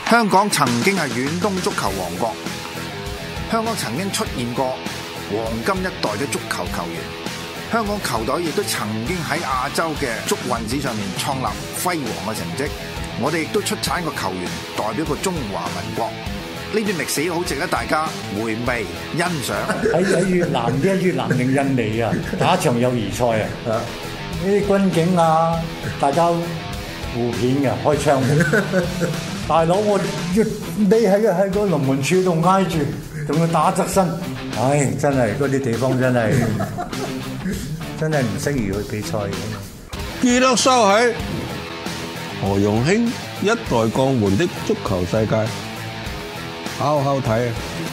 香港曾經係遠東足球王國，香港曾經出現過黃金一代嘅足球球員，香港球隊亦都曾經喺亞洲嘅足運史上面創立輝煌嘅成績。我哋亦都出產個球員代表過中華民國，呢段歷史好值得大家回味欣賞。 喺越南定印尼啊，打一場友誼賽啊，呢啲軍警啊，大家互片嘅開槍。大佬，我匿喺個龍門柱度挨住，仲要打側身，唉，真係嗰啲地方真係唔適宜去比賽嘅。 記得收起何容興一代鋼門的足球世界，好好睇啊！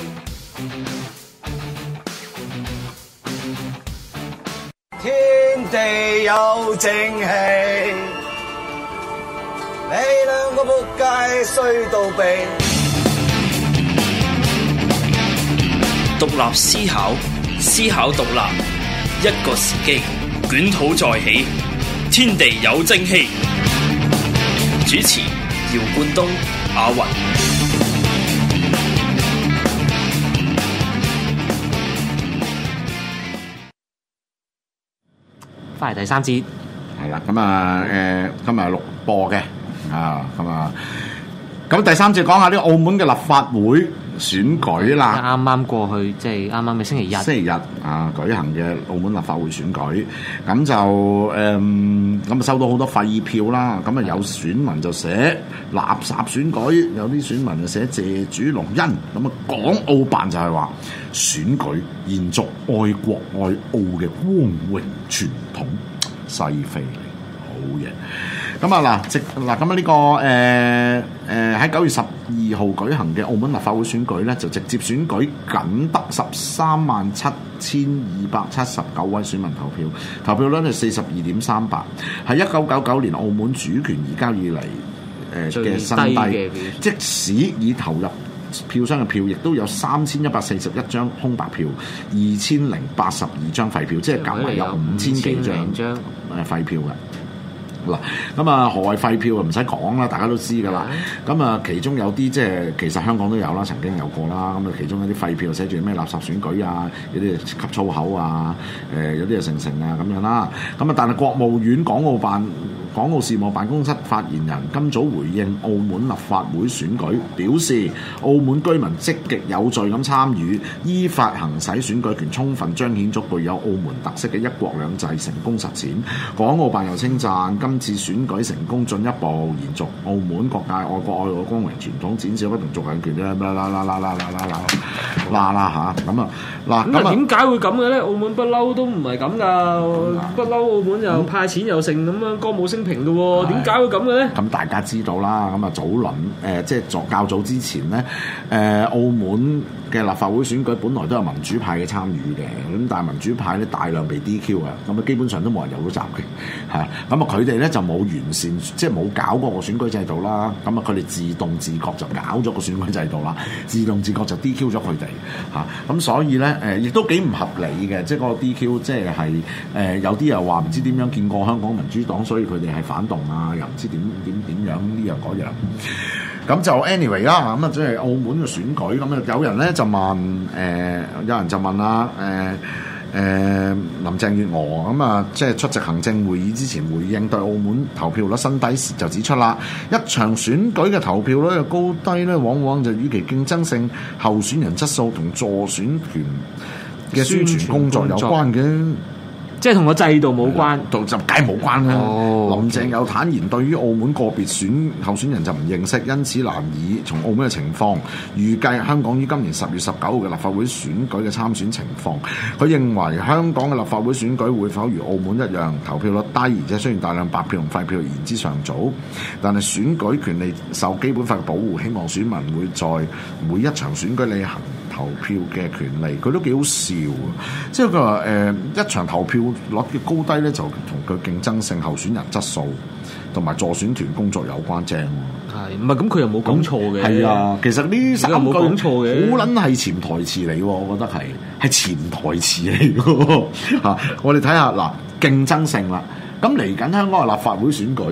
天地有正氣。你兩個仆街衰到痹。 獨立思考，思考獨立，一個時機，捲土再起，天地有正氣。主持：姚冠東、阿雲。 翻嚟第三節， 係啦，咁啊，今日錄播嘅。咁第三節講下啲澳門嘅立法會選舉啦， 啱啱過去即係啱啱嘅星期日舉行嘅澳門立法會選舉，咁就咁收到好多廢票啦，咁啊有選民就寫垃圾選舉，有啲選民就寫謝主隆恩，咁啊港澳辦就係話選舉延續愛國愛澳嘅光榮傳統，西非好嘢。咁啊咁啊呢個喺9月12號舉行嘅澳門立法會選舉咧，就直接選舉僅得137279位選民投票，投票率係42.38%，係1999年澳門主權移交以嚟嘅新低。即使已投入票箱嘅票，亦都有3141張空白票，2082張廢票，即係夾埋有5000幾張廢票嘅。嗱，咁啊，何謂廢票啊？唔使講啦，大家都知㗎啦。咁啊，其中有啲即係其實香港都有啦，曾經有過啦。咁啊，其中有啲廢票寫住咩垃圾選舉啊，有啲吸粗口啊，有啲係成啊咁樣啦。咁啊，但係國務院港澳事務辦公室發言人今早回應澳門立法會選舉，表示澳門居民積極有序咁參與，依法行使選舉權，充分彰顯咗具有澳門特色嘅一國兩制成功實踐。港澳辦又稱讚今次選舉成功，進一步延續澳門各界愛國愛澳嘅光榮傳統，展示不同族人權啦咁啊嗱，咁點解會咁嘅咧？澳門不嬲都唔係咁噶，不嬲澳門又派錢又剩咁樣，歌舞升平嘅喎，點解會咁嘅咧？ 咁大家知道啦，咁啊早輪即係較早之前咧，澳門嘅立法會選舉本來都有民主派嘅參與嘅，咁但係民主派咧大量被 DQ 啊，咁啊基本上都冇人有到閘嘅，係啊，咁啊佢哋咧就冇完善，即係冇搞過個選舉制度啦，咁啊佢哋自動自覺就搞咗個選舉制度啦，自動自覺就 DQ 咗佢哋嚇，咁所以咧亦都幾唔合理嘅，即係嗰個 DQ 即係有啲又話唔知點樣見過香港民主黨，所以佢哋係反動啊，又唔知點樣呢樣嗰樣。咁就 anyway 啦，咁啊即係澳門嘅選舉，咁啊有人咧就問，有人就問啦，林鄭月娥咁啊，即係出席行政會議之前回應對澳門投票率新低時就指出啦，一場選舉嘅投票率嘅高低咧，往往就與其競爭性、候選人質素同助選團嘅宣傳工作有關嘅。 即係同個制度冇關， 就梗係冇關啦。林鄭有坦言，對於澳門個別候選人就唔認識，因此難以從澳門嘅情況預計香港於今年10月19號嘅立法會選舉嘅參選情況。佢認為香港嘅立法會選舉會否如澳門一樣投票率低，而且雖然大量白票同廢票言之尚早，但係選舉權利受基本法嘅保護，希望選民會在每一場選舉履行投票嘅權利。佢都幾好笑，即係佢話一場投票率嘅高低咧，就同佢競爭性、候選人質素同埋助選團工作有關正。 係唔係咁？佢又冇講錯嘅。係啊， 其實呢三句冇講錯嘅， 好撚係潛台詞嚟喎，我覺得係潛台詞嚟喎嚇。我哋睇下嗱，競爭性啦。咁嚟緊香港嘅立法會選舉，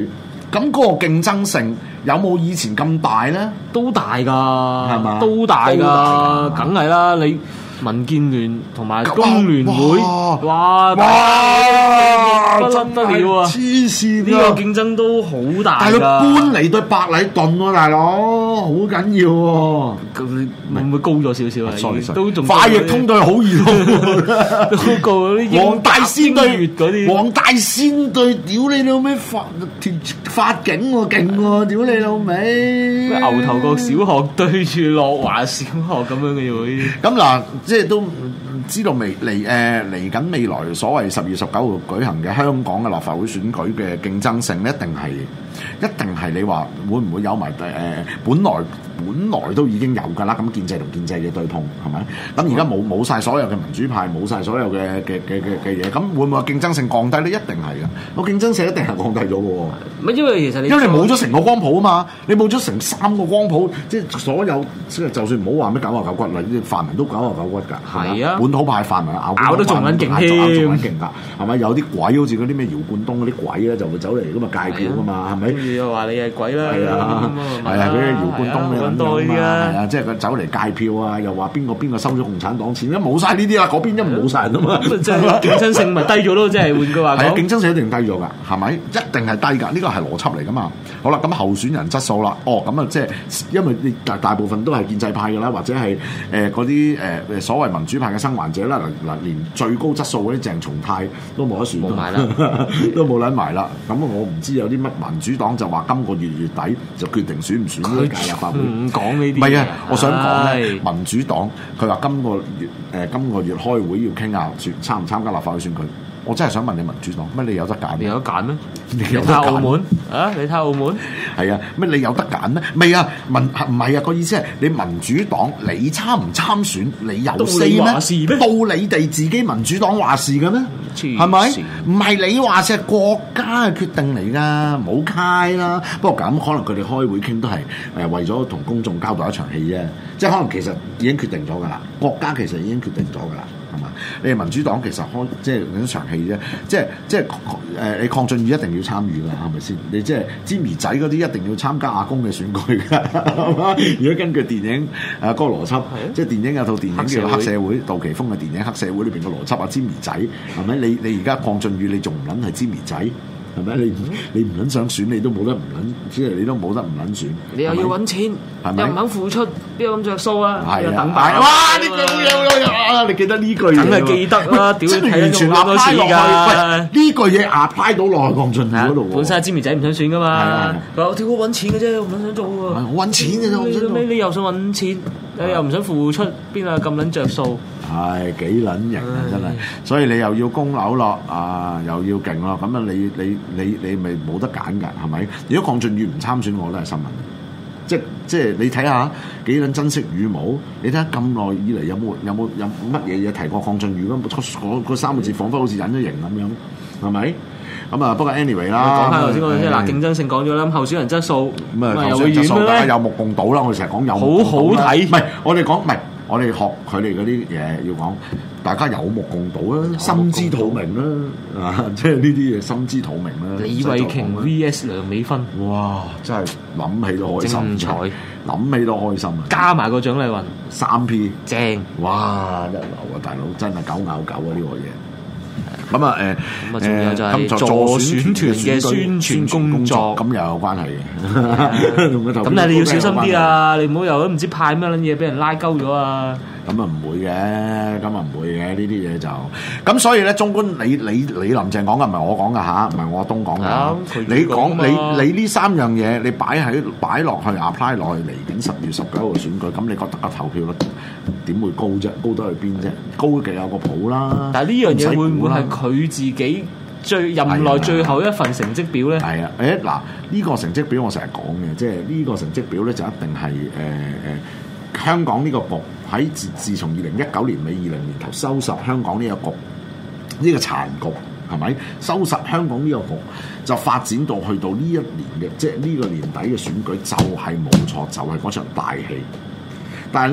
咁嗰個競爭性有冇以前咁大咧？ 都大㗎， 係嘛？ 都大都大㗎，梗係啦！你民建聯同埋工聯會，哇！不得了啊！ 黐線， 呢個競爭都好大㗎。 但係佢搬嚟對白禮頓喎，大佬好緊要喎。 咁你會唔會高咗少少啊？ sorry， 都仲快譯通對好易咯， 都高嗰啲黃大仙對嗰啲， 黃大仙對屌你老味法警喎，勁喎，屌你老味！ 牛頭角小學對住樂華小學咁樣嘅喎， 咁嗱，即係都知道嚟緊未來所謂10月19號舉行嘅香港嘅立法會選舉嘅競爭性，一定係你話會唔會有埋本來都已經有㗎啦，咁建制同建制嘅對碰係咪？咁而家冇曬所有嘅民主派，冇曬所有嘅嘢，咁會唔會競爭性降低咧？一定係㗎，個競爭性一定係降低咗嘅喎。 唔係因為其實因為你冇咗成個光譜啊嘛，你冇咗成3個光譜，即係所有即係就算唔好話咩99骨啦，啲泛民都99骨㗎， 係啊， 本土派泛民咬得仲撚勁添， 仲撚勁㗎，係咪？有啲鬼好似嗰啲咩姚冠東嗰啲鬼咧，就會走嚟咁啊戒票㗎嘛，係咪？ 又話你係鬼啦， 係啊，嗰啲姚冠東嘅咁啊，係啊，即係佢走嚟戒票啊，又話邊個收咗共產黨錢，冇晒呢啲啦，嗰邊一冇晒人啊嘛， 即係競爭性咪低咗咯，即係換句話講， 係啊，競爭性一定低咗㗎，係咪？一定係低㗎，呢個係邏輯嚟㗎嘛。好啦，咁候選人質素啦，咁啊，即係因為你大部分都係建制派㗎啦，或者係嗰啲所謂民主派嘅生還者啦，嗱連最高質素嗰啲鄭松泰都冇得選，冇埋啦，都冇撚埋啦。咁我唔知有啲乜民主黨就話今個月底就決定選唔選呢屆立法會， 唔講呢啲。 唔係啊，我想講咧，民主黨佢話今個月開會要傾下參唔參加立法會選舉。我真係想問你民主黨乜你有得揀？ 你有得揀咩？ 你有得揀？ 澳門啊？你睇澳門係啊？乜你有得揀咩？未啊？唔係啊？個意思係你民主黨你參唔參選？你有 say 咩？到你哋自己民主黨話事嘅咩？係咪？唔係你話事，係國家嘅決定嚟㗎，冇開啦。不過咁可能佢哋開會傾都係為咗同公眾交代一場戲啫，即係可能其實已經決定咗㗎啦。國家其實已經決定咗㗎啦。係嘛？你哋民主黨其實即係一場戲啫，即係你鄺俊宇一定要參與㗎，係咪先？你即係詹兒仔嗰啲一定要參加阿公嘅選舉㗎，係嘛？如果根據電影嗰個邏輯，即係電影有套電影叫《黑社會》，杜琪峰嘅電影《黑社會》裏邊嘅邏輯啊，詹兒仔係咪？你而家鄺俊宇你仲唔撚係詹兒仔？係咪？你唔撚想選，你都冇得唔撚，即係你都冇得唔撚選。 你又要揾錢，又唔肯付出，邊有咁着數啊？ 係啊！ 等哇！呢句好嘢，你記得呢句嘢？ 梗係記得啦！屌， 真係完全咁多次㗎。 呢句嘢apply到落去鄺俊宇嗰度喎。 本身係詹兒仔唔想選㗎嘛。佢話：我屌，我揾錢嘅啫，我唔想做喎。 我揾錢嘅啫， 你又想揾錢，你又唔想付出，邊有咁撚着數？ 係幾撚型啊！真係，所以你又要供樓咯，又要勁咯，咁啊你咪冇得揀㗎，係咪？如果鄺俊宇唔參選，我都係新聞。即係你睇下幾撚珍惜羽毛，你睇下咁耐以嚟有乜嘢嘢提過鄺俊宇嗰3個字，彷彿好似隱咗形咁樣，係咪？咁啊，不過 anyway 啦， 講翻頭先嗰啲嗱，競爭性講咗啦，咁候選人質素咁啊，候選人質素大家有目共睹啦。我哋成日講有目共睹啦，好睇。唔係我哋講，唔係我哋學佢哋嗰啲嘢要講，大家有目共睹啦，心知肚明啦，即係呢啲嘢心知肚明啦。 李慧瓊 VS 梁美芬， 哇！真係諗起都開心， 精彩， 諗起都開心啊！ 加埋個蔣麗芸 3P 正， 哇！一流啊，大佬真係9咬9啊呢個嘢。咁啊仲有就係助選團嘅宣傳工作， 咁又有關係嘅。 咁但係你要小心啲啊！你唔好又都唔知派咩撚嘢俾人拉鳩咗啊！ 咁啊唔會嘅，呢啲嘢就咁，所以咧，綜觀你林鄭講嘅唔係我講嘅嚇，唔係我阿東講嘅。你講你呢3樣嘢，你擺落去 apply 落去嚟緊10月19號選舉，咁你覺得個投票率點會高啫？高得去邊啫？高嘅有個譜啦。 但係呢樣嘢會唔會係佢自己任內最後一份成績表咧？係啊， 嗱呢個成績表我成日講嘅，即係呢個成績表咧就一定係香港呢個局喺自從2019年尾2020年頭收拾香港呢個局，呢個殘局係咪收拾香港呢個局，就發展到去到呢一年嘅，即係呢個年底嘅選舉就係冇錯，就係嗰場大戲。但係咧，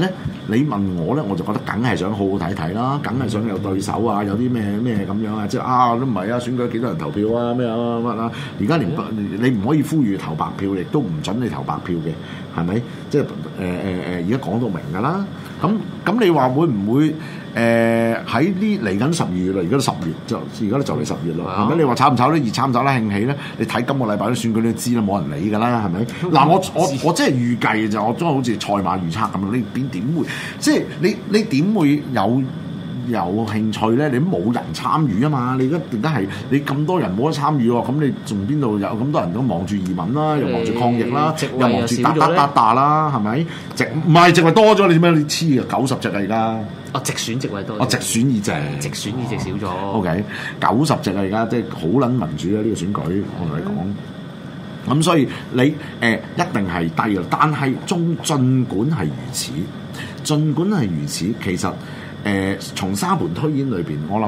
你問我咧，我就覺得梗係想好好睇睇啦，梗係想有對手啊，有啲咩咁樣啊，即係都唔係啊，選舉幾多人投票啊，咩啊乜啊，而家連你唔可以呼籲投白票，亦都唔準你投白票嘅，係咪？即係而家講到明㗎啦。咁你話會唔會喺呢嚟緊12月啦？而家都10月而家都就嚟10月啦，係咪？你話炒唔炒得熱，炒唔炒得興起咧？你睇今個禮拜啲選舉都知啦，冇人理㗎啦，係咪？嗱，我真係預計嘅就，我真係好似賽馬預測咁樣，你點會？即係你點會有興趣咧？你冇人參與啊嘛！你而家係你咁多人冇得參與喎，咁你仲邊度有咁多人都忙住移民啦，又忙住抗疫啦，又忙住打啦，係咪？唔係淨係多咗你咩？你黐啊90席啊而家！ 直選席位多。 直選議席。 直選議席少咗。 OK， 90席啊而家，即係好撚民主啊呢個選舉，我同你講。咁所以你一定係低嘅，但係儘管係如此，其實從沙盤推演裏邊，我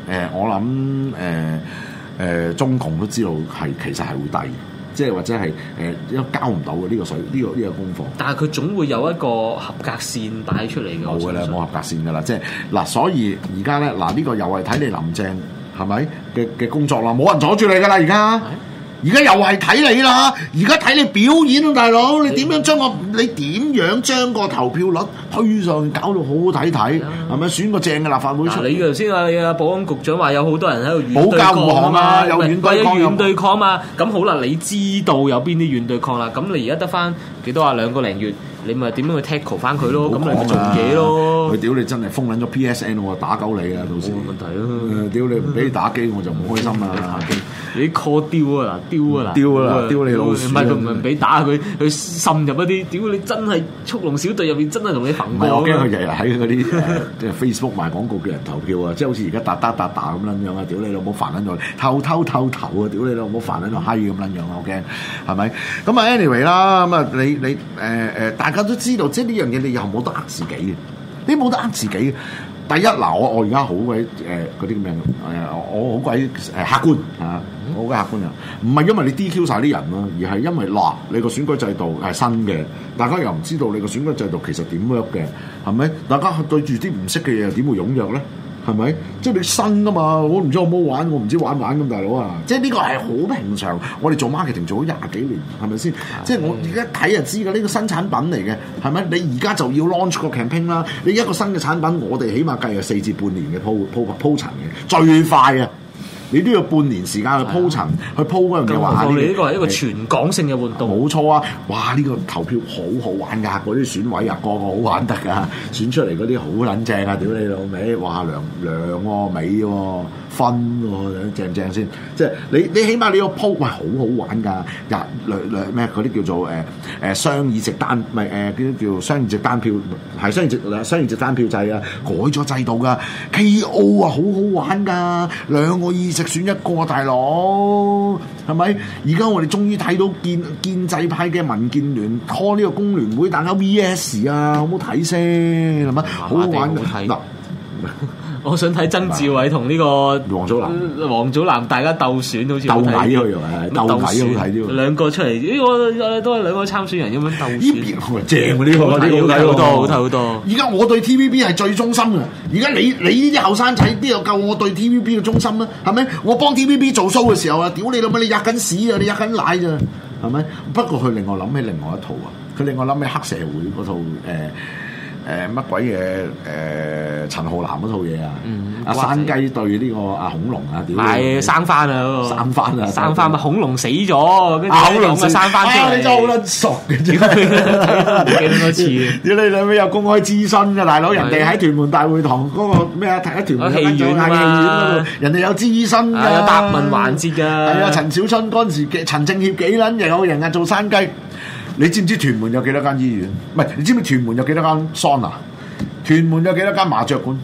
諗中共都知道其實係會低，即係或者係交唔到嘅呢個水呢個功課。但係佢總會有一個合格線帶出嚟嘅。冇嘅啦，冇合格線㗎啦，即係嗱，所以而家咧呢個又係睇你林鄭係咪嘅工作啦，冇人阻住你㗎啦而家。而家又係睇你啦，而家睇你表演啊，大佬！你點樣將個投票率推上去，搞到好好睇睇，係咪選個正嘅立法會出嚟？你頭先你保安局長話有好多人喺度軟對抗啊，有軟對抗嘛。咁好啦，你知道有邊啲軟對抗啦？咁你而家得翻幾多啊？2個零月，你咪點樣去 tackle 翻佢咯？咁你咪做嘢咯。佢屌你真係封撚咗 PSN， 我打鳩你啊！到時冇問題咯。屌你唔俾你打機，我就唔開心啦。你 call 丟啊嗱，丟你老鼠！唔係佢唔係俾打佢滲入一啲，屌你真係速龍小隊入邊真係同你焚過。我驚佢日日喺嗰啲即係 Facebook 賣廣告叫人投票啊，即係好似而家打咁撚樣啊！屌你老母煩撚咗，偷頭啊！屌你老母煩撚咗閪咁撚樣啊！我驚係咪？咁啊 anyway 啦，咁啊你大家都知道，即係呢樣嘢你又冇得呃自己嘅，你冇得呃自己嘅。第一嗱，我而家好鬼嗰啲咁樣我好鬼客觀嚇，我好鬼客觀啊！唔係因為你 DQ 晒啲人咯，而係因為你個選舉制度係新嘅，大家又唔知道你個選舉制度其實點 work 嘅，係咪？大家對住啲唔識嘅嘢又點會踴躍咧？係咪？即係你新啊嘛，我唔知我冇玩，我唔知玩咁大佬啊！即係呢個係好平常，我哋做 marketing 做咗20幾年，係咪先？即係我而家睇就知㗎，呢個新產品嚟嘅，係咪？你而家就要 launch 個 campaign 啦，你一個新嘅產品，我哋起碼計係4至半年嘅鋪陳嘅，最快啊！你都要半年時間去鋪陳，去鋪嗰樣嘢話。你呢個係一個全港性嘅活動。冇錯啊！哇！呢個投票好玩㗎，嗰啲選委啊，個個好玩得㗎，選出嚟嗰啲好撚正啊！屌你老味，哇！涼喎，美喎，分喎，正唔正先？即係你起碼你個鋪，喂，好好玩㗎！咩嗰啲叫做雙議席單，唔係嗰啲叫雙議席單票，係雙議席單票制啊，改咗制度㗎。KO 啊，好好玩㗎，2個議席選一個，大佬係咪？而家我哋終於睇到建制派嘅民建聯開呢個工聯會，大家 VS 啊，好唔好睇先？係咪？好好玩嗱。我想睇曾志偉同呢個黃祖藍大家鬥選，好似鬥矮佢啊，鬥矮好睇啲喎。兩個出嚟，我都係兩個參選人咁樣鬥選。呢邊正喎，呢個好睇好多。而家我對 TVB 係最忠心嘅。而家你呢啲後生仔邊有夠我對 TVB 嘅忠心咧？係咪？我幫 TVB 做 show 嘅時候啊，屌你老母，你吔緊屎啊，你吔緊奶咋？係咪？不過佢令我諗起另外一套啊，佢令我諗起黑社會嗰套乜鬼嘢陳浩南嗰套嘢啊！阿山雞對呢個阿恐龍啊，屌！係生番啊嗰個！生番咪恐龍死咗，跟住恐龍咪生番出嚟。你真係好撚熟嘅，真係幾多次？屌你兩位有公開諮詢嘅大佬，人哋喺屯門大會堂嗰個咩啊？喺屯門戲院嗰度，人哋有諮詢㗎，有答問環節㗎。係啊，陳小春嗰陣時，陳政協幾撚有人啊做山雞？你知唔知屯門有幾多間醫院？唔係，你知唔知屯門有幾多間桑拿？屯門有幾多間麻雀館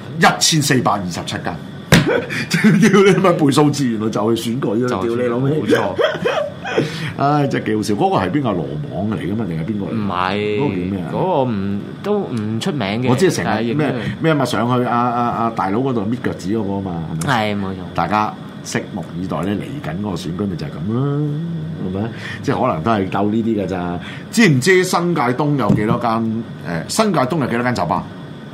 ？1427間。屌你咪背數字，原來就去選舉啦！屌你老味，冇錯。唉，真係幾好笑。嗰個係邊個羅網嚟㗎嘛？定係邊個嚟？唔係，嗰個叫咩啊？嗰個都唔出名嘅。我知成日咩咪上去阿大佬嗰度搣腳趾嗰個啊嘛，係咪？係冇錯。大家拭目以待咧，嚟緊嗰個選舉咪就係咁啦。 係咪？即係可能都係鬥呢啲㗎咋？知唔知新界東有幾多間？新界東有幾多間酒吧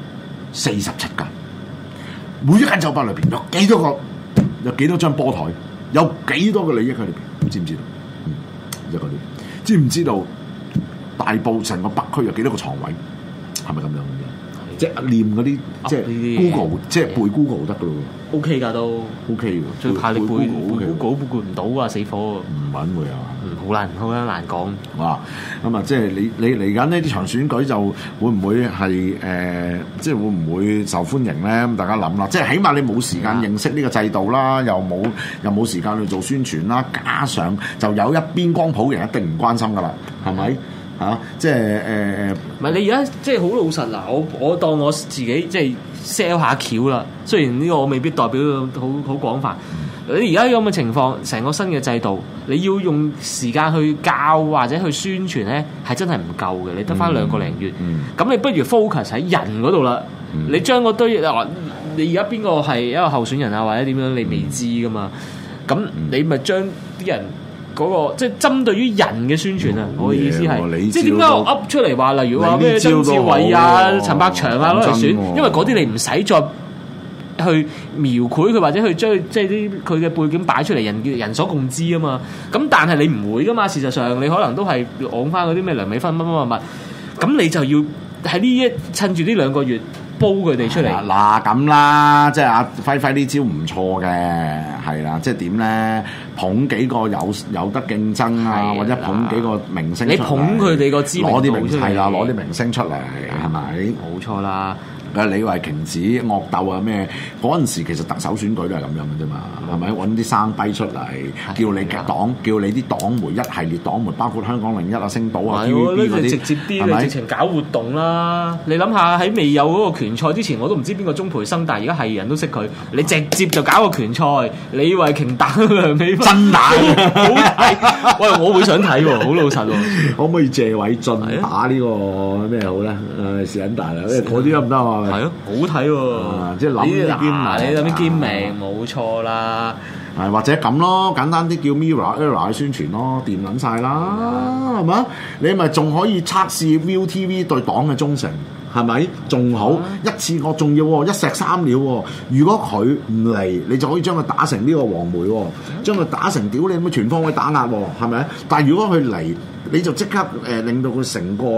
？47間。每一間酒吧裏邊有幾多張波台，有幾多個利益喺裏邊？知唔知道？一個啲。知唔知道大埔成個北區有幾多個床位？係咪咁樣嘅？即係念嗰啲，即係 Google， 即係背 Google 得噶咯喎。 OK 㗎都 OK 嘅， 最怕你背 Google 背唔到啊！死火唔穩會啊！ 好難講。 哇！咁啊，即係你嚟緊呢啲場選舉就會唔會係即係會唔會受歡迎咧？咁大家諗啦，即係起碼你冇時間認識呢個制度啦，又冇時間去做宣傳啦，加上就有一邊光譜嘅人一定唔關心噶啦，係咪？即係唔係你而家即係好老實嗱，我當我自己即係 sell 下橋啦。雖然呢個我未必代表好廣泛。你而家咁嘅情況，成個新嘅制度，你要用時間去教或者去宣傳咧，係真係唔夠嘅。你得翻2個零月，咁你不如 focus 喺人嗰度啦。你將嗰堆你而家邊個係一個候選人啊，或者點樣你未知噶嘛？咁你咪將啲人。嗰個即係針對於人嘅宣傳啊！我嘅意思係，即係點解我噏出嚟話，例如話咩曾志偉啊、陳百祥啊攞嚟選，因為嗰啲你唔使再去描繪佢，或者去將即係啲佢嘅背景擺出嚟，人所共知啊嘛。咁但係你唔會噶嘛，事實上你可能都係講翻嗰啲咩梁美芬乜，咁你就要喺趁住呢2個月。煲佢哋出嚟嗱咁啦，即係阿輝呢招唔錯嘅，係啦，即係點咧？捧幾個有得競爭啊，或者捧幾個明星出嚟， 你捧佢哋個知名度出嚟， 係啦，攞啲明星出嚟，係咪？ 冇錯啦。 李慧瓊子惡鬥啊咩？嗰陣時其實特首選舉都係咁樣嘅啫嘛，係咪？揾啲生低出嚟，叫你啲黨媒一系列黨媒，包括香港01啊、星島啊、TVB 嗰啲， 直接啲，你直情搞活動啦！你諗下喺未有嗰個拳賽之前，我都唔知邊個鍾培生，但係而家係人都識佢。你直接就搞個拳賽，李慧瓊打梁美芬，真打好睇！喂，我會想睇喎，好老實喎。 可唔可以謝偉俊打呢個咩好咧？是撚大啦，嗰啲得唔得啊？ 係咯，好睇喎！即係諗啲兼名，冇錯啦。 係或者咁咯，簡單啲叫 Mirror 去宣傳咯，掂撚晒啦，係嘛？你咪仲可以測試 ViuTV 對黨嘅忠誠，係咪？仲好一次過仲要一石三鳥喎。如果佢唔嚟，你就可以將佢打成呢個黃媒，將佢打成屌你咁全方位打壓，係咪？但係如果佢嚟，你就即刻令到佢成個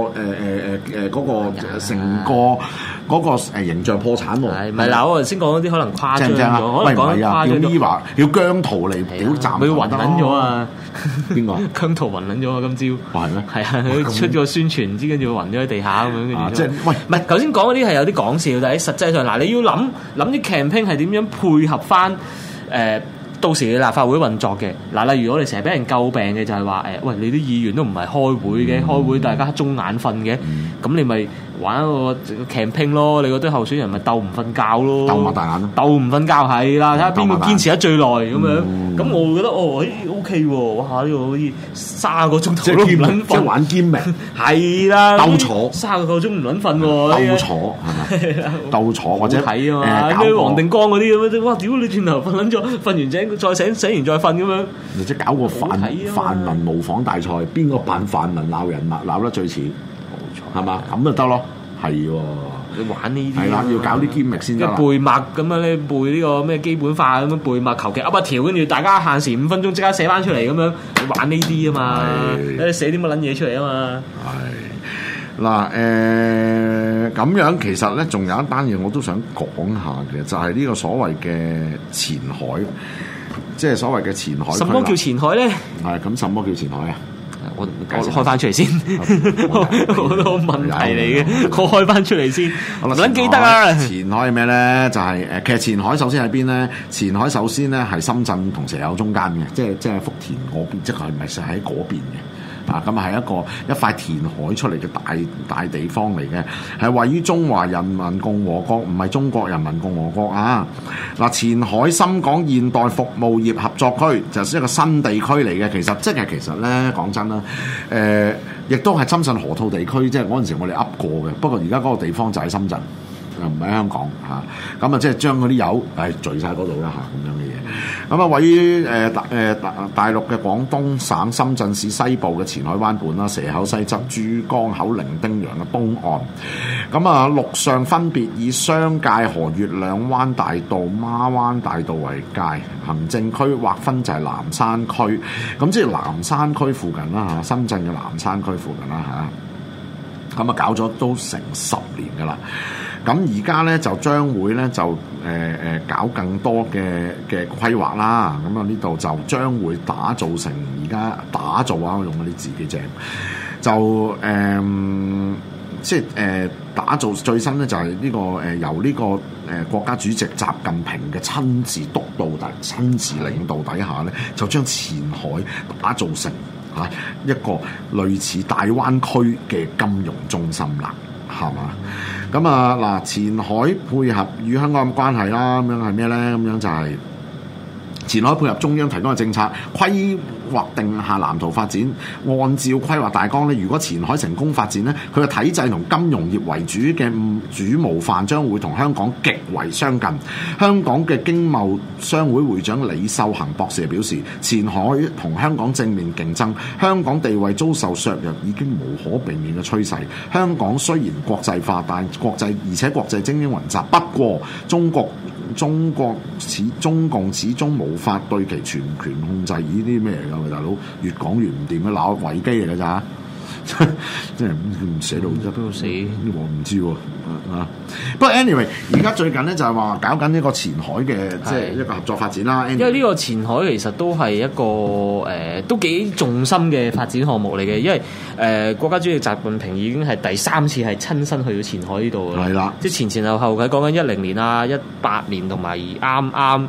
嗰個形象破產喎。係咪嗱？我頭先講嗰啲可能誇張咗，可能講誇張咗。叫姜濤嚟表站，佢暈撚咗啊！邊個？姜濤暈撚咗啊！今朝係咩？係啊，佢出咗宣傳，唔知跟住佢暈咗喺地下咁樣，跟住即係喂，唔係頭先講嗰啲係有啲講笑，但係實際上嗱，你要諗啲 campaign 係點樣配合翻到時嘅立法會運作嘅嗱，例如我哋成日俾人詬病嘅就係話喂，你啲議員都唔係開會嘅，開會大家中眼瞓嘅，咁你咪玩一個 campaign 咯，你嗰堆候選人咪鬥唔瞓覺咯，鬥擘大眼咯，鬥唔瞓覺係啦，睇下邊個堅持得最耐咁樣，咁我會覺得OK 喎，哇呢個好似30個鐘頭都唔撚瞓，即係玩兼明係啦，鬥坐30個鐘唔撚瞓喎，鬥坐係咪？鬥坐或者睇啊嘛，咩黃定光嗰啲咁樣，哇屌你轉頭瞓撚咗，瞓完醒再醒完再瞓咁樣，或者搞個泛民模仿大賽，邊個扮泛民鬧人鬧得最似？係嘛？咁就得咯，係喎。你玩呢啲係啦，要搞啲兼密先得啦。背默咁樣咧，背呢個咩基本法咁樣背默，求其噏一條，跟住大家限時5分鐘即刻寫翻出嚟咁樣，你玩呢啲啊嘛？你寫啲乜撚嘢出嚟啊嘛？係嗱咁樣其實咧，仲有一單嘢我都想講下嘅，就係呢個所謂嘅前海，即係所謂嘅前海。什麼叫前海咧？係咁，什麼叫前海啊？我開翻出嚟先，好多問題嚟嘅，我開翻出嚟先。唔撚記得啊！前海係咩咧？就係其實前海首先喺邊咧？前海首先咧係深圳同蛇口中間嘅，即係福田嗰邊，即係唔係喺嗰邊嘅。啊，咁係一塊填海出嚟嘅大地方嚟嘅，係位於中華人民共和國，唔係中國人民共和國啊！嗱，前海深港現代服務業合作區就係一個新地區嚟嘅，其實咧講真啦，亦都係深圳河套地區，即係嗰陣時我哋噏過嘅，不過而家嗰個地方就喺深圳。 唔喺香港嚇。咁啊，即係將嗰啲油聚晒嗰度啦嚇，咁樣嘅嘢。咁啊，位於大陸嘅廣東省深圳市西部嘅前海灣畔啦、蛇口西側、珠江口、伶仃洋嘅東岸。咁啊，陸上分別以商界河、月亮灣大道、孖灣大道為界，行政區劃分就係南山區。咁即係南山區附近啦嚇，深圳嘅南山區附近啦嚇。咁啊，搞咗都成10年噶啦。咁而家咧就將會咧就搞更多嘅規劃啦。咁啊，呢度就將會打造成而家打造啊，我用嗰啲字幾正，就即係打造最新咧就係呢個由呢個國家主席習近平嘅親自督導親自領導底下咧，就將前海打造成一個類似大灣區嘅金融中心啦，係嘛？咁啊嗱，前海配合與香港嘅關係啦，咁樣係咩咧？咁樣就係前海配合中央提供嘅政策，規劃定下藍圖發展。按照規劃大綱咧，如果前海成功發展咧，佢嘅體制同金融業為主嘅主模範將會同香港極為相近。香港嘅經貿商會會長李秀恒博士表示，前海同香港正面競爭，香港地位遭受削弱已經無可避免嘅趨勢。香港雖然國際化，但國際精英雲集。不過中共始終無法對其全權控制。呢啲咩嚟㗎？大佬越講越唔掂嘅，鬧維基嚟㗎咋？即係唔寫到邊度死？我唔知喎啊！不過 anyway， 而家最近咧就係話搞緊呢個前海嘅即係一個合作發展啦。 因為呢個前海其實都係一個都幾重心嘅發展項目嚟嘅，因為國家主席習近平已經係第3次係親身去到前海呢度嘅。係啦，即係前後佢講緊10年啊、18年同埋啱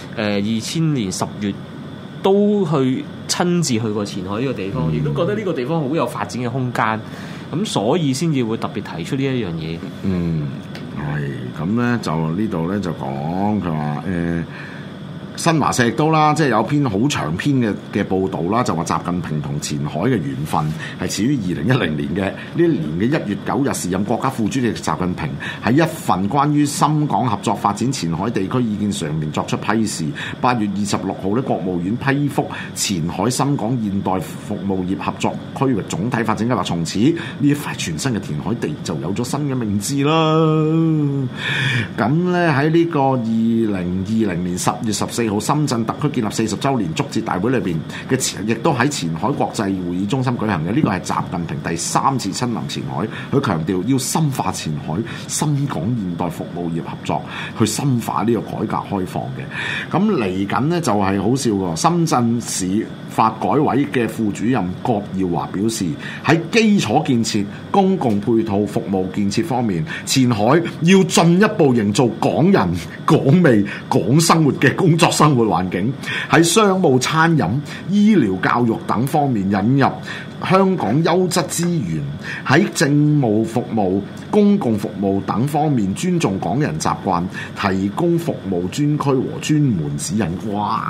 2000年10月都去親自去過前海呢個地方，亦都覺得呢個地方好有發展嘅空間，咁所以先至會特別提出呢一樣嘢。 係咁咧，就呢度咧就講佢話新華社亦都啦，即係有篇好長篇嘅報導啦，就話習近平同前海嘅緣分係始於2010年嘅呢一年嘅1月9日，時任國家副主席習近平喺一份關於深港合作發展前海地區意見上面作出批示。8月26號咧，國務院批覆前海深港現代服務業合作區域總體發展計劃，從此呢一塊全新嘅填海地就有咗新嘅名字啦。咁咧喺呢個2020年10月14號深圳特區建立40週年祝捷大會裏邊嘅亦都喺前海國際會議中心舉行嘅。呢個係習近平第3次親臨前海，佢強調要深化前海深港現代服務業合作，去深化呢個改革開放嘅。咁嚟緊呢，就係好笑喎，深圳市發改委嘅副主任郭耀華表示，喺基礎建設、公共配套服務建設方面，前海要進一步營造港人港味港生活嘅工作生活環境，喺商務、餐飲、醫療、教育等方面引入香港優質資源，喺政務服務、公共服務等方面尊重港人習慣，提供服務專區和專門指引。哇！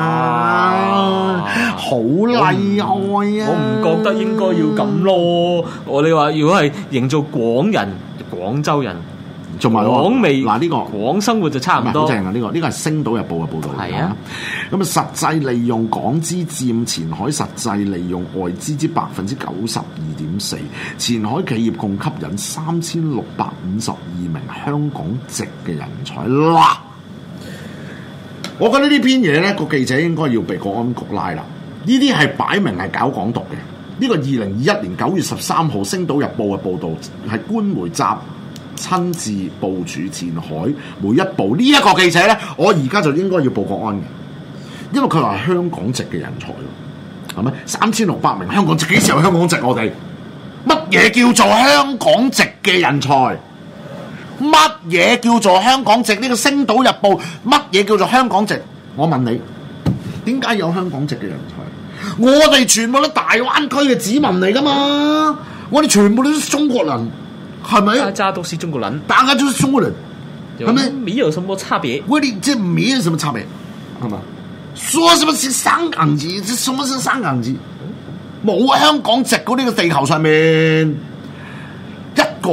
好厲害啊！ 我唔覺得應該要咁咯。你話如果係營造廣人、廣州人， 仲埋廣味嗱呢個廣生活就差唔多。 好正啊！呢個係《星島日報》嘅報導嚟㗎。咁啊，實際利用港資佔前海實際利用外資之92.4%。前海企業共吸引3652名香港籍嘅人才啦。我覺得呢篇嘢咧，個記者應該要被國安局拉啦。呢啲係擺明係搞港獨嘅。呢個2021年9月13號《星島日報》嘅報導係官媒集親自部署前海每一步。呢一個記者咧，我而家就應該要報國安嘅，因為佢話係香港籍嘅人才，係咪3600名香港籍？幾時有香港籍？我哋乜嘢叫做香港籍嘅人才？乜嘢叫做香港籍？呢個《星島日報》乜嘢叫做香港籍？我問你，點解有香港籍嘅人才？我哋全部都大灣區嘅子民嚟噶嘛，我哋全部都係中國人，係咪？ 大家都是中國人， 大家都是中國人，係咪？ 沒有什麼差別， 我哋即係沒有什麼差別，係嘛？說什麼是香港籍？什麼是香港籍？冇香港籍嗰呢個地球上面一個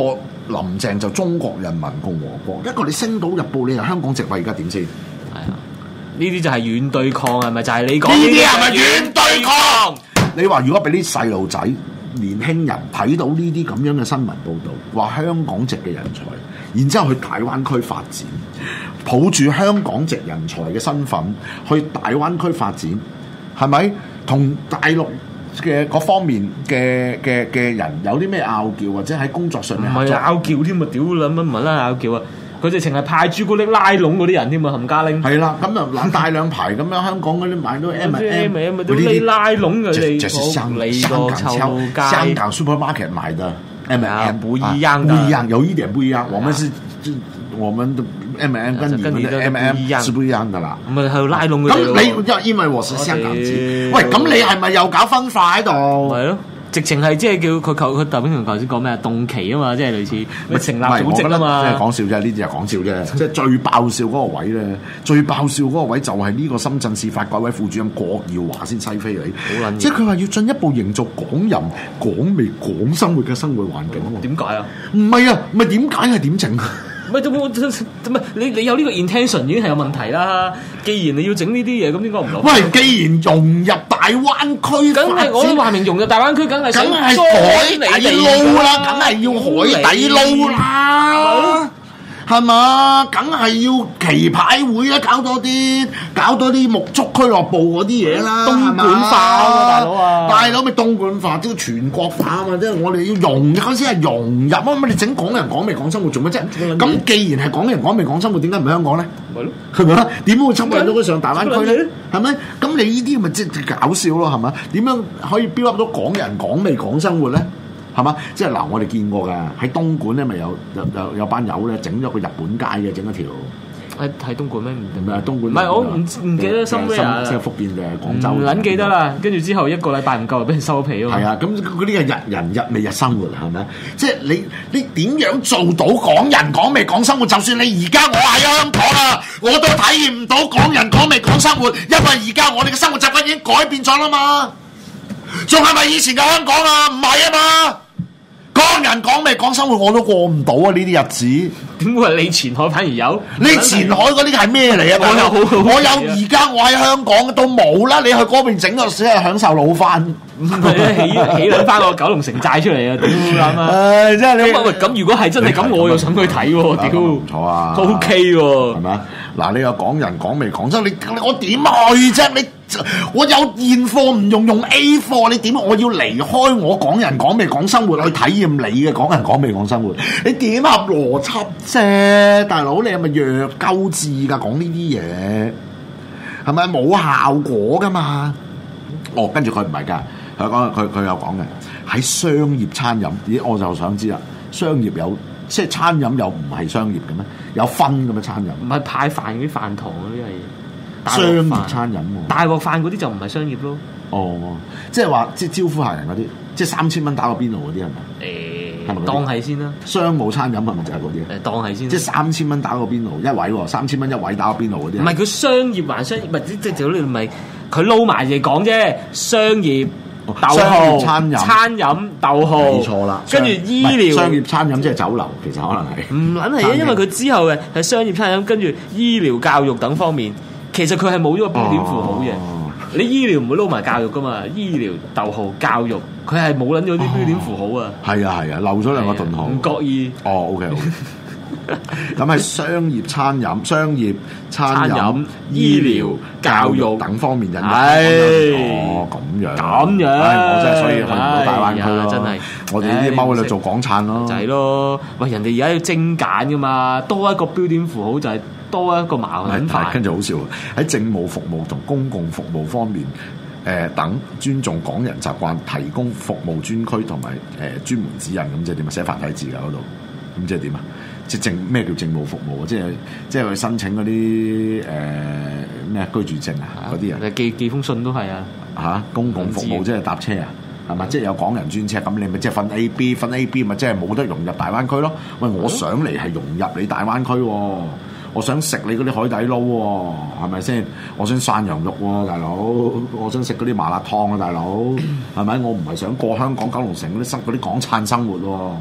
林鄭就中國人民共和國，一個你星島日報你係香港籍位，而家點先？ 係啊，呢啲就係軟對抗，係咪就係你講？ 呢啲係咪軟對抗？你話如果俾啲細路仔、年輕人睇到呢啲咁樣嘅新聞報導，話香港籍嘅人才，然之後去大灣區發展，抱住香港籍人才嘅身份去大灣區發展，係咪同大陸嘅嗰方面嘅人有啲咩拗撬，或者喺工作上面唔係拗撬添啊！屌你乜唔係啦拗撬啊！佢直情係派朱古力拉攏嗰啲人添啊！冚家拎係啦，咁就攬大兩排咁樣，香港嗰啲買到 M&M 都拉攏佢哋， 這是香港 supermarket 買的 M&M 不一樣， 不一樣，有一點不一樣。我們的 M&M 跟你們的 M&M 是不一樣的啦。 咁咪喺度拉攏佢哋咯。 咁你因為我是香港籍，喂，咁你係咪又搞分化喺度？ 係咯。直情係即係叫佢鄧炳強頭先講咩啊？動旗啊嘛，即係類似咪成立組織啊嘛。 即係講笑啫，呢啲係講笑啫。即係最爆笑嗰個位咧，最爆笑嗰個位就係呢個深圳市發改委副主任郭耀華先西飛你。好撚！即係佢話要進一步營造港人港味港生活嘅生活環境喎。 點解啊？ 唔係啊，唔係點解係點整？ 唔係你有呢個 intention 已經係有問題啦。既然你要整呢啲嘢，咁點解唔攞？ 喂，既然融入大灣區， 梗係我都話明融入大灣區，梗係海底撈啦，梗係要海底撈啦。係嘛？梗係要棋牌會啦，搞多啲沐足俱樂部嗰啲嘢啦， 東莞化啊，大佬啊！ 大佬咪東莞化，都要全國化啊嘛！即係我哋要融入嗰先係融入啊！乜你整港人港味港生活做乜啫？咁既然係港人港味港生活，點解唔喺香港咧？係咯，係咪啊？點會侵入到佢上大灣區咧？係咪？咁你呢啲咪即係搞笑咯？係咪？點樣可以標up到港人港味港生活咧？係嘛？即係嗱，我哋見過㗎，喺東莞咧，咪有班友咧，整咗個日本街嘅，整一條。 喺東莞咩？唔係東莞。 唔係我唔記得深咩啊？ 即係福建嘅廣州。 唔撚記得啦，跟住之後一個禮拜唔夠，就俾人收皮啊嘛。 係啊，咁嗰啲係日人日味日生活係咪？即係你點樣做到港人港味港生活？就算你而家我喺香港啊，我都體驗唔到港人港味港生活，因為而家我哋嘅生活習慣已經改變咗啦嘛。仲係咪以前嘅香港啊？唔係啊嘛。港人港味港生活我都過唔到啊！呢啲日子點會係你前海反而有？ 你前海嗰啲係咩嚟啊？我有而家我喺香港都冇啦！你去嗰邊整個只係享受老飯， 起撚翻個九龍城寨出嚟啊！屌咁啊！ 即係你咁如果係真係咁，我又想去睇喎！屌唔錯啊， 都 OK 喎， 係咪啊？嗱，你有港人港味港生，我點去啫？我有現貨唔用 A 貨，你點？我要離開我港人港味港生活去體驗你嘅港人港味港生活，你點合邏輯啫？大佬，你係咪弱鳩智㗎？講呢啲嘢係咪冇效果㗎嘛？哦，跟住佢唔係㗎，佢有講嘅喺商業餐飲，咦？我就想知啦，商業有即係餐飲又唔係商業嘅咩？有分嘅咩餐飲？ 唔係派飯嗰啲飯堂嗰啲係。 商業餐飲喎， 大鑊飯嗰啲就唔係商業咯。 哦，即係話即係招呼客人嗰啲，即係3000蚊打個邊爐嗰啲係咪？係咪當係先啦。 商務餐飲係咪就係嗰啲？ 當係先。 即係3000蚊打個邊爐一位喎，3000蚊一位打個邊爐嗰啲。 唔係佢商業還商業，唔係即係你唔係佢撈埋嚟講啫。商業逗號餐飲逗號， 冇錯啦。 跟住醫療商業餐飲即係酒樓，其實可能係唔撚係啊，因為佢之後嘅係商業餐飲，跟住醫療教育等方面。其實佢係冇咗個標點符號嘅，你醫療唔會撈埋教育噶嘛？醫療逗號教育，佢係冇撚咗啲標點符號啊！ 係啊，漏咗兩個頓號， 唔覺意。 哦 ，OK。咁係商業餐飲、醫療、教育等方面引入。哦，咁樣。我真係所以去唔到大灣區咯。真係，我哋呢啲踎喺度做港燦咯。 就係咯，喂，人哋而家要精簡噶嘛，多一個標點符號就係。多一個矛盾化， 跟住好笑喺政務服務同公共服務方面，等尊重港人習慣，提供服務專區同埋專門指引，咁即係點啊？寫繁體字㗎嗰度，咁即係點啊？即係咩叫政務服務？即係去申請嗰啲咩居住證啊嗰啲啊？ 寄封信都係啊嚇！公共服務即係搭車啊？係咪？即係有港人專車，咁你咪即係分 A、B 咪即係冇得融入大灣區咯？喂，我想嚟係融入你大灣區喎。我想食你嗰啲海底撈喎，係咪先？我想涮羊肉喎，大佬。我想食嗰啲麻辣燙啊，大佬。係咪？我唔係想過香港九龍城嗰啲港燦生活喎。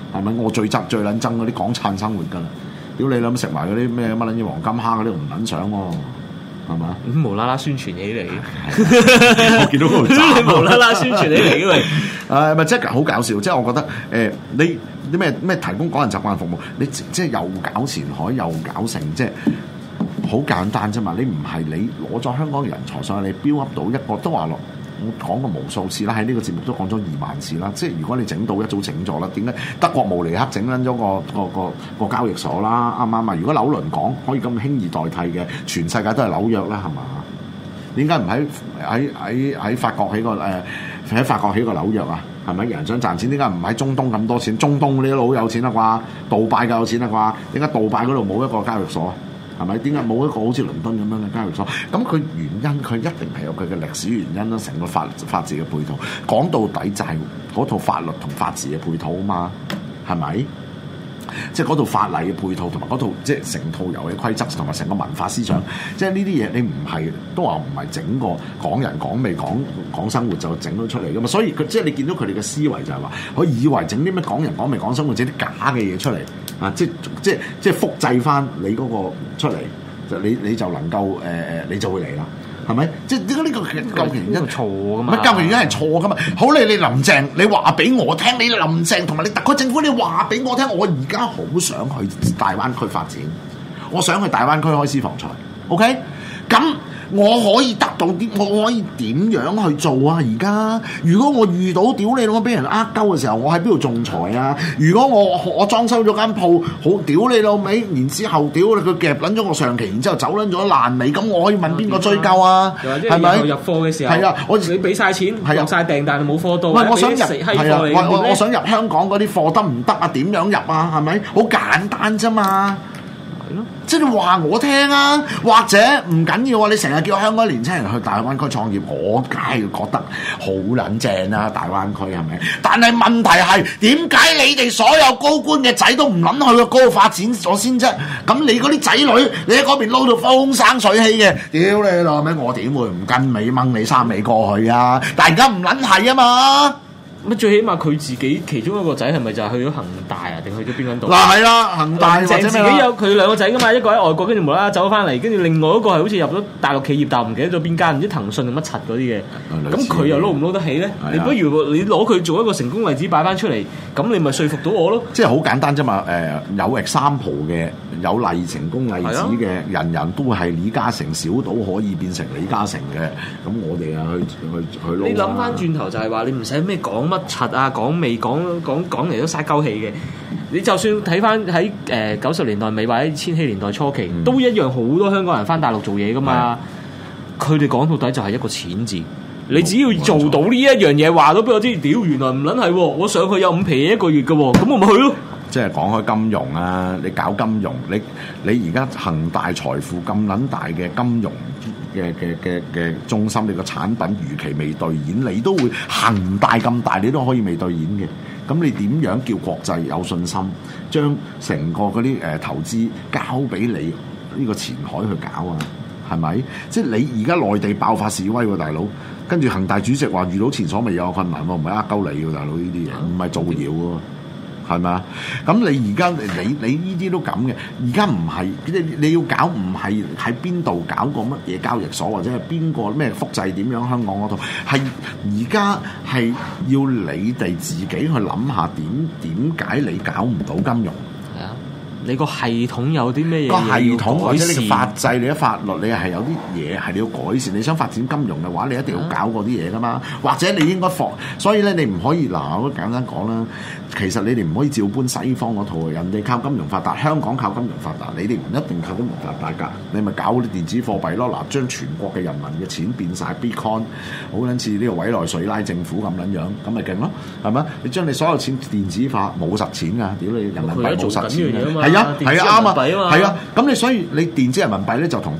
係咪？我最撚憎嗰啲港燦生活㗎啦！屌你諗食埋嗰啲咩乜撚嘢黃金蝦嗰啲唔撚想喎，係嘛？ 無啦啦宣傳起嚟， 我見到嗰度斬無啦啦宣傳起嚟，因為咪即係好搞笑，即係我覺得你啲咩提供港人習慣服務，你即係又搞前海又搞成，即係好簡單啫嘛！你唔係你攞咗香港人才上去，你 build up 到一個都話落。我講過無數次啦，喺呢個節目都講咗20000次啦。即係如果你整到一早整咗啦，點解德國慕尼黑整撚咗個交易所啦？啱唔啱啊？如果紐倫港可以咁輕易代替嘅，全世界都係紐約啦，係嘛？點解唔喺法國起個喺法國起個紐約啊？係咪？人想賺錢，點解唔喺中東咁多錢？中東呢啲佬好有錢啦啩，杜拜夠有錢啦啩？點解杜拜嗰度冇一個交易所啊？係咪？點解冇一個好似倫敦咁樣嘅交易所？咁佢原因，佢一定係有佢嘅歷史原因啦。成個法治嘅配套，講到底就係嗰套法律同法治嘅配套啊嘛，係咪？即係嗰套法例嘅配套，同埋嗰套即係成套遊戲規則，同埋成個文化思想，即係呢啲嘢你唔係都話唔係整個港人港味講生活就整到出嚟噶嘛？所以佢即係你見到佢哋嘅思維就係話，佢以為整啲咩港人港味講生活，整啲假嘅嘢出嚟啊！即係複製翻你嗰個出嚟，就你就能夠你就會嚟啦。係咪？即係點解呢個究竟原因錯噶嘛？ 乜究竟原因係錯噶嘛？好你林鄭，你話俾我聽，你林鄭同埋你特區政府，你話俾我聽，我而家好想去大灣區發展，我想去大灣區開私房菜 ，OK？ 咁我可以得到啲，我可以點樣去做啊？而家如果我遇到屌你老母俾人呃鳩嘅時候，我喺邊度仲裁啊？如果我裝修咗間鋪，好屌你老味，然之後屌你佢夾撚咗我上期，然之後走撚咗爛尾，咁我可以問邊個追究啊？係咪入貨嘅時候？ 係啊，你俾晒錢，入晒訂，但係冇貨到。 喂，我想入係啊， 我想入香港嗰啲貨得唔得啊？點樣入啊？係咪？好簡單啫嘛。即係你話我聽啊，或者唔緊要啊！你成日叫香港年輕人去大灣區創業，我梗係覺得好撚正啦！大灣區係咪？但係問題係點解你哋所有高官嘅仔都唔諗去嗰度發展咗先啫？咁你嗰啲仔女，你喺嗰邊撈到風生水起嘅，屌你老味！我點會唔跟尾掹你三尾過去啊？大家唔撚係啊嘛！ 乜最起碼佢自己其中一個仔係咪就係去咗恒大啊？定去咗邊度？ 嗱係啦，恒大或者自己有佢兩個仔噶嘛？一個喺外國，跟住無啦啦走翻嚟，跟住另外一個係好似入咗大陸企業，但係唔記得咗邊間，唔知騰訊定乜柒嗰啲嘅。咁佢又撈唔撈得起咧？你不如你攞佢做一個成功例子擺翻出嚟，咁你咪說服到我咯。 即係好簡單啫嘛。有 example 嘅，有成功例子嘅，人人都係李嘉誠小島可以變成李嘉誠嘅。咁我哋啊去撈。 你諗翻轉頭就係話，你唔使咩講乜柒啊，講未講嚟都嘥鳩氣嘅。你就算睇翻喺90年代尾或者千禧年代初期，都一樣好多香港人翻大陸做嘢噶嘛。佢哋講到底就係一個錢字。你只要做到呢一樣嘢，話到俾我知，屌原來唔撚係喎，我上去有5皮嘢一個月嘅喎，咁我咪去咯。 即係講開金融啊，你搞金融，你而家恒大財富咁撚大嘅金融嘅中心，你個產品如期未兌現，你都會恒大咁大，你都可以未兌現嘅。咁你點樣叫國際有信心，將成個嗰啲投資交俾你呢個前海去搞啊？係咪？即係你而家內地爆發示威喎，大佬，跟住恒大主席話遇到前所未有嘅困難喎，唔係呃鳩你喎，大佬，呢啲嘢唔係造謠喎。係咪啊？咁你而家你呢啲都咁嘅，而家唔係你要搞，唔係喺邊度搞個乜嘢交易所，或者係邊個咩複製點樣香港嗰度，係而家係要你哋自己去諗下點解你搞唔到金融？ 係啊，你個系統有啲咩嘢？ 個系統或者你嘅法制、你嘅法律，你係有啲嘢係你要改善。你想發展金融嘅話，你一定要搞嗰啲嘢噶嘛。或者你應該所以咧，你唔可以嗱，我簡單講啦。其實你哋唔可以照搬西方嗰套，人哋靠金融發達，香港靠金融發達，你哋唔一定靠金融發達㗎。你咪搞啲電子貨幣咯，嗱，將全國嘅人民嘅錢變晒 Bitcoin， 好撚似呢個委內瑞拉政府咁撚樣，咁咪勁咯，係咪？你將你所有錢電子化，冇實錢㗎，屌你人民幣冇實錢㗎，係啊，係啊，啱啊，係啊，咁你所以你電子人民幣咧就同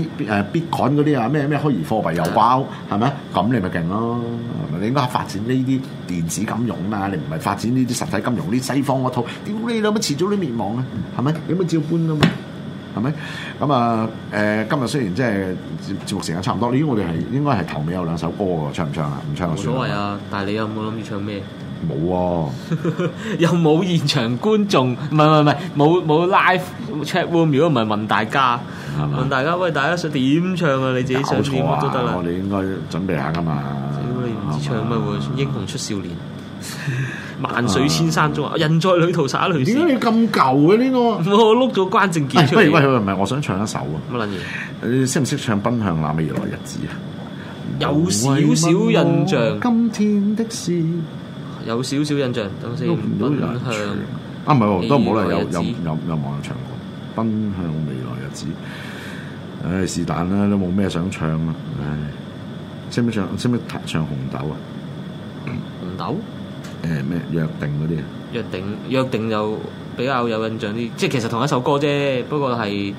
Bitcoin 嗰啲啊咩虛擬貨幣有關，係咪？咁你咪勁咯，你應該發展呢啲電子金融啊嘛，你唔係發展呢啲實體金融，啲西方嗰套，屌你老母遲早都滅亡啊，係咪？你咪照搬啊嘛，係咪？咁啊今日雖然即係節目時間差唔多，我哋係應該係頭尾有2首歌喎，唱唔唱啊？唔唱就算。 冇所謂啊，但係你有冇諗住唱咩？ 冇喎， 又冇現場觀眾，唔係冇 live chat room。如果唔係問大家，問大家喂，大家想點唱啊？你自己想點都得啦。 我哋應該準備下噶嘛。 你唔知唱咩喎？英雄出少年，萬水千山中，人在旅途灑淚點解你咁舊嘅呢個？ 我碌咗關正傑出嚟。 喂，唔係，我想唱一首啊。 乜撚嘢？ 你識唔識唱《奔向那未來日子》啊？ 有少少印象。 今天的事有少少印象，等先。奔向啊，唔係喎，都唔好啦，有網友唱過《奔向未來日子》。唉，是但啦，都冇咩想唱啦。唉，識唔識唱紅豆啊？ 紅豆？ 咩約定嗰啲啊？ 約定就比較有印象啲，即係其實同一首歌啫，不過係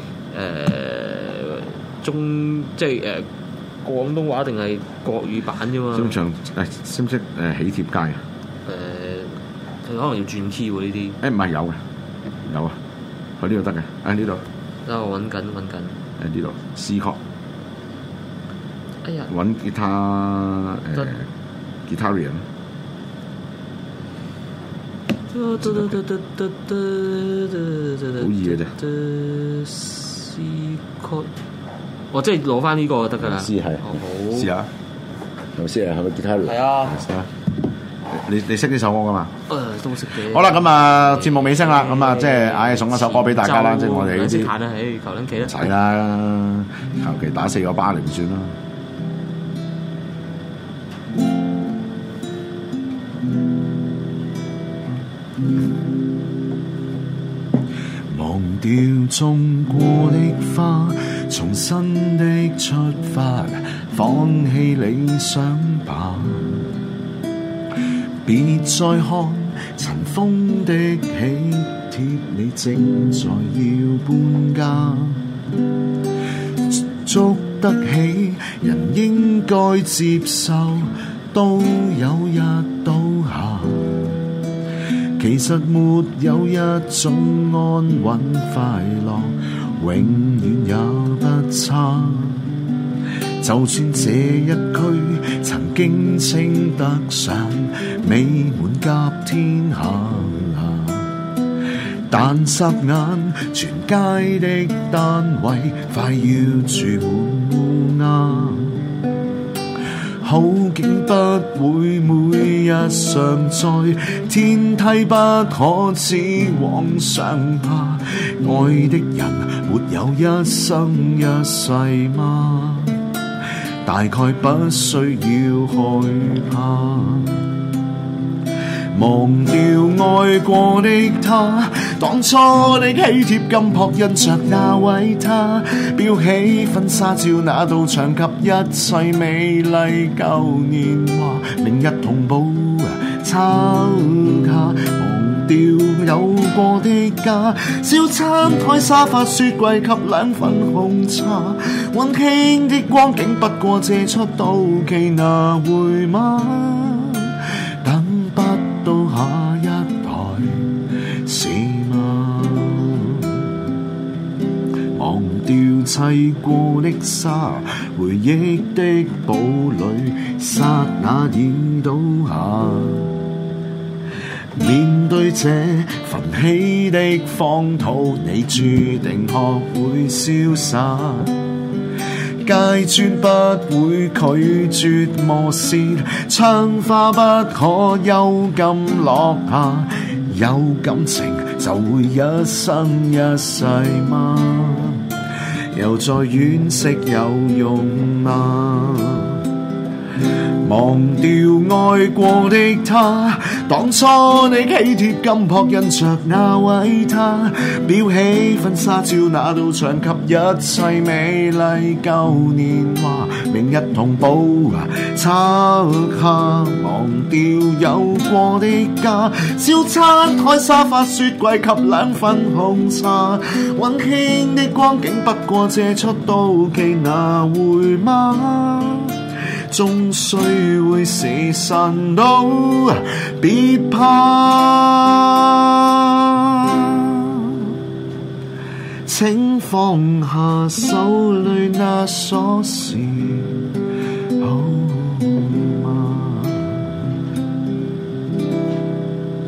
即係廣東話定係國語版啫嘛。識唔識唱？識唔識喜帖街啊？佢可能要轉 key 喎呢啲。唔係有啊，佢呢度得嘅。呢度。等我揾緊。呢度 C 曲。哎呀！揾吉他Guitarian。好易嘅啫。C 曲。我即係攞翻呢個就得㗎啦。C 係。好。試下。係咪先啊？係咪 Guitarian？係啊。你識呢首歌㗎嘛？都識嘅。好啦，咁啊節目尾聲啦，咁啊即係送一首歌俾大家啦，即係我哋呢啲。彈啦，求撚企啦。係啦，求其打4個巴嚟算啦。忘掉種過的花，重新的出發，放棄理想吧。別再看塵封的喜帖，你正在要搬家。捉得起人應該接受，都有日倒下。其實沒有一種安穩快樂，永遠也不差。就算這一區曾經稱得上美滿甲天下，但霎眼全街的單位快要住滿烏鴉。好景不會每日常在，天梯不可只往上爬。愛的人沒有一生一世嗎？大概不需要害怕。忘掉愛過的他，當初的喜帖金箔印着那位他，標起婚紗照那道牆及一切美麗舊年華，明日同步抄卡。忘掉有過的家，小餐台沙發雪櫃及兩份紅茶，溫馨的光景不過借出到期拿回嗎？等不到下一代是嗎？忘掉砌過的沙，回憶的堡壘剎那已倒下。面對這焚起的荒土，你注定學會瀟灑。階磚不會拒絕磨蝕，窗花不可幽禁落下。有感情就會一生一世嗎？又再惋惜有用嗎？忘掉愛過的他，當初你喜帖金箔印着那位他，裱起婚紗照那道牆及一切美麗舊年華，明日同步抄下。忘掉有過的家，小餐台沙發雪櫃及兩份紅茶，溫馨的光景不過借出到期拿回嗎？終須會是神都別怕，請放下手裏那鎖匙，好嗎？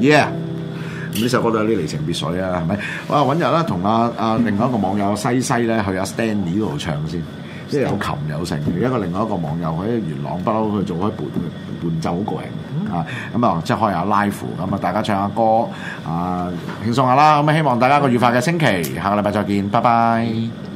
Yeah。咁呢首歌都有啲離情別緒啊，係咪？哇！揾日啦，同另外一個網友西咧去阿 Stanley 嗰度唱先，即係有琴有成。另外一個網友喺元朗不嬲去做開伴奏好過癮啊！咁啊，即係開下 live 咁啊，大家唱下歌啊，輕鬆下啦。咁啊，希望大家個愉快嘅星期，下個禮拜再見，拜拜。